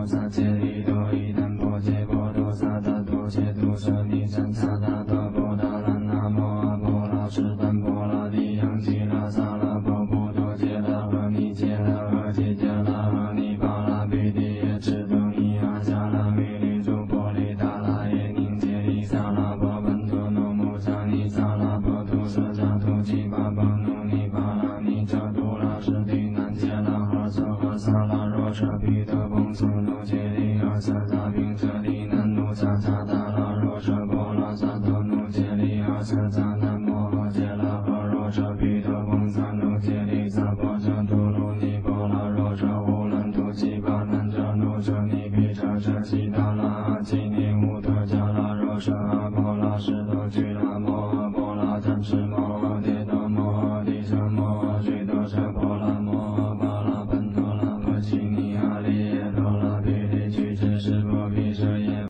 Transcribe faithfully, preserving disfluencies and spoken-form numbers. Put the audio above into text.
萨揭利多伊南波揭波多萨达多揭多舍利赞萨达多波达拉那摩阿波拉什丹波拉地扬吉拉萨拉波波多揭拉和尼揭拉和揭揭拉和尼巴拉比地耶智多尼阿迦拉米利珠波利达拉耶宁揭利萨拉波本多诺姆萨尼萨拉波图舍迦图吉巴巴努尼巴拉尼遮杜拉什地南揭拉哈瑟哈萨拉若舍毗德崩苏努揭利阿瑟扎宾舍利南努萨扎达拉若舍波拉萨多努揭利阿瑟扎南摩诃揭拉哈若舍毗德崩萨努揭利萨波遮图卢尼波拉若舍乌兰图吉巴南遮努舍尼毗遮舍悉达拉阿基尼乌特迦拉若舍阿波拉什多居拉摩诃波拉赞持摩诃迭多摩诃帝舍摩诃须多舍波拉摩诃巴拉本多拉婆吉尼阿利耶多拉毗利俱胝室波毗舍